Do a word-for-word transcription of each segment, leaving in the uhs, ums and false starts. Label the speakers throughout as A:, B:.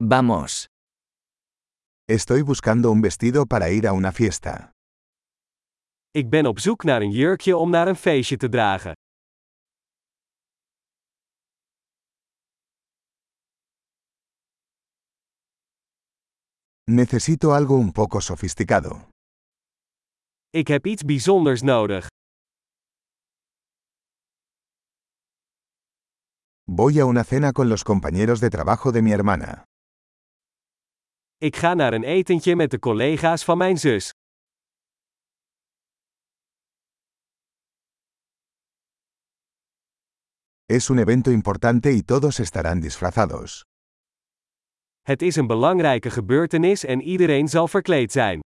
A: Vamos.
B: Estoy buscando un vestido para ir a una fiesta.
C: Ik ben op zoek naar een jurkje om naar een feestje te dragen.
B: Necesito algo un poco sofisticado.
C: Ik heb iets bijzonders nodig.
B: Voy a una cena con los compañeros de trabajo de mi hermana.
C: Ik ga naar een etentje met de collega's van mijn zus.
B: Es un evento importante y todos estarán disfrazados.
C: Het is een belangrijke gebeurtenis en iedereen zal verkleed zijn.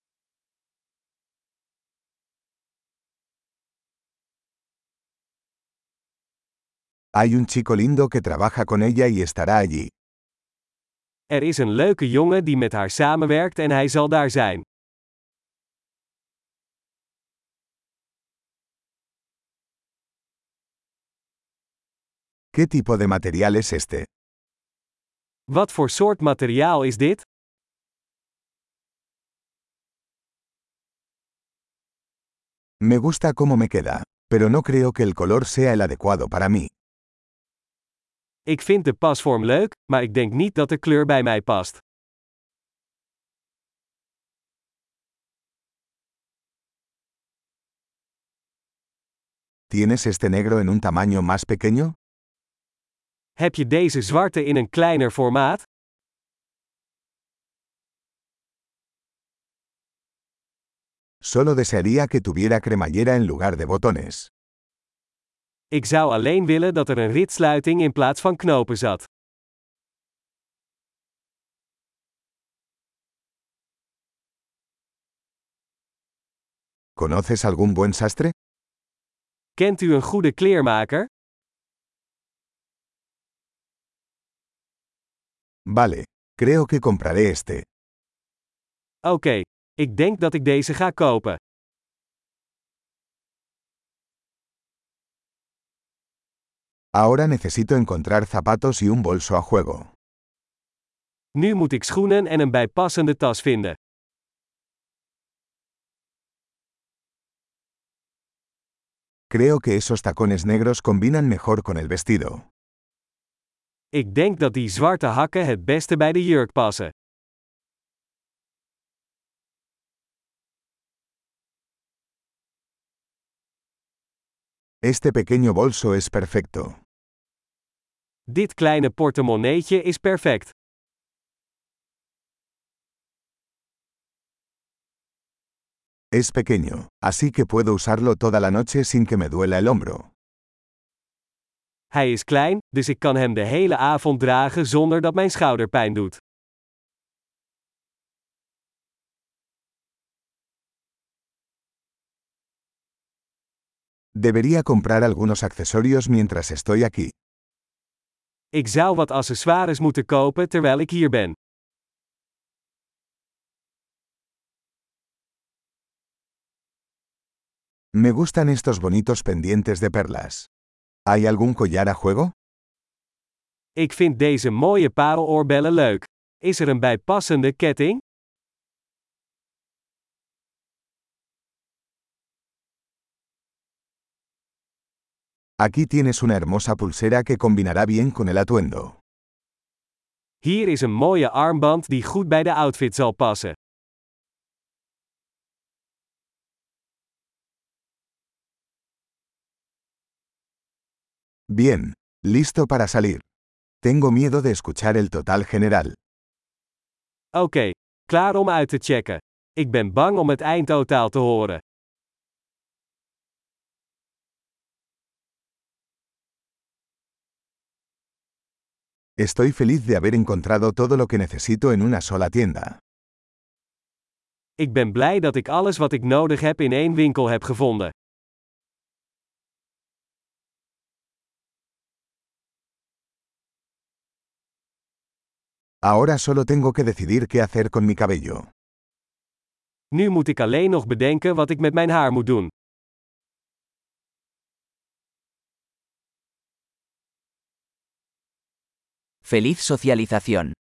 B: Hay un chico lindo que trabaja con ella y estará allí.
C: Er is een leuke jongen die met haar samenwerkt en hij zal daar zijn.
B: ¿Qué tipo de material es este?
C: Wat voor soort materiaal is dit?
B: Me gusta cómo me queda, pero no creo que el color sea el adecuado para mí.
C: Ik vind de pasvorm leuk, maar ik denk niet dat de kleur bij mij past.
B: ¿Tienes este negro en un tamaño más pequeño?
C: Heb je deze zwarte in een kleiner formaat?
B: Solo desearía que tuviera cremallera en lugar de botones.
C: Ik zou alleen willen dat er een ritsluiting in plaats van knopen zat.
B: ¿Conoces algún buen sastre?
C: Kent u een goede kleermaker?
B: Vale, creo que compraré este.
C: Oké, okay, ik denk dat ik deze ga kopen.
B: Ahora necesito encontrar zapatos y un bolso a juego.
C: Nu moet ik schoenen en een bijpassende tas vinden.
B: Creo que esos tacones negros combinan mejor con el vestido.
C: Ik denk dat die zwarte hakken het beste bij de jurk passen.
B: Este pequeño bolso es perfecto.
C: Dit kleine portemonneetje is perfect.
B: Es pequeño, así que puedo usarlo toda la noche sin que me duela el hombro.
C: Hij is klein, dus ik kan hem de hele avond dragen zonder dat mijn schouder pijn doet.
B: Debería comprar algunos accesorios mientras estoy aquí.
C: Ik zou wat accessoires moeten kopen terwijl ik hier ben.
B: Me gustan estos bonitos pendientes de perlas. ¿Hay algún collar a juego?
C: Ik vind deze mooie pareloorbellen leuk. Is er een bijpassende ketting?
B: Aquí tienes una hermosa pulsera que combinará bien con el atuendo.
C: Hier is een mooie armband die goed bij de outfit zal passen.
B: Bien, listo para salir. Tengo miedo de escuchar el total general.
C: Oké, okay, klaar om uit te checken. Ik ben bang om het eindtotaal te horen.
B: Estoy feliz de haber encontrado todo lo que necesito en una sola tienda.
C: Ik ben blij dat ik alles wat ik nodig heb in één winkel heb gevonden.
B: Ahora solo tengo que decidir qué hacer con mi cabello.
C: Nu moet ik alleen nog bedenken wat ik met mijn haar moet doen.
A: Feliz socialización.